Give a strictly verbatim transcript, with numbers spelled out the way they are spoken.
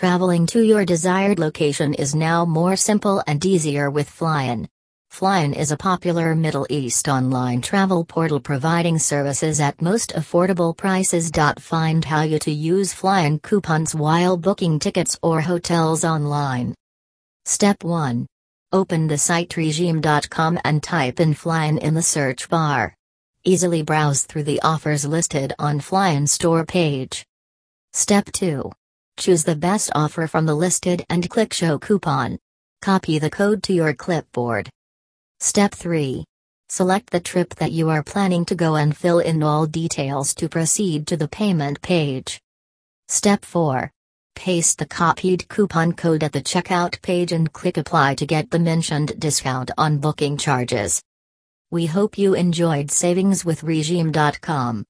Traveling to your desired location is now more simple and easier with Flyin. Flyin is a popular Middle East online travel portal providing services at most affordable prices. Find how you to use Flyin coupons while booking tickets or hotels online. Step one. Open the site regime dot com and type in Flyin in the search bar. Easily browse through the offers listed on Flyin store page. Step two. Choose the best offer from the listed and click Show Coupon. Copy the code to your clipboard. Step three. Select the trip that you are planning to go and fill in all details to proceed to the payment page. Step four. Paste the copied coupon code at the checkout page and click Apply to get the mentioned discount on booking charges. We hope you enjoyed savings with regime dot com.